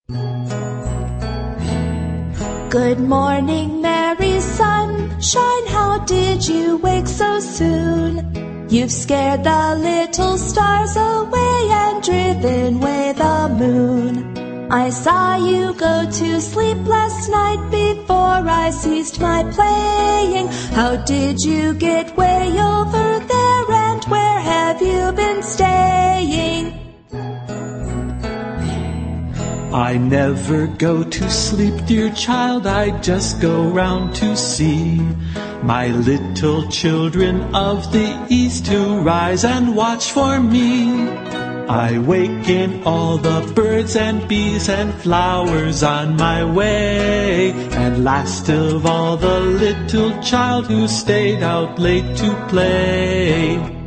Good morning, merry sunshine, how did you wake so soon? You've scared the little stars away and driven away the moon. I saw you go to sleep last night before I ceased my playing. How did you get way over there, and where have you been staying? I never go to sleep, dear child, I just go round to see my little children of the east who rise and watch for me. I waken all the birds and bees and flowers on my way, and last of all the little child who stayed out late to play.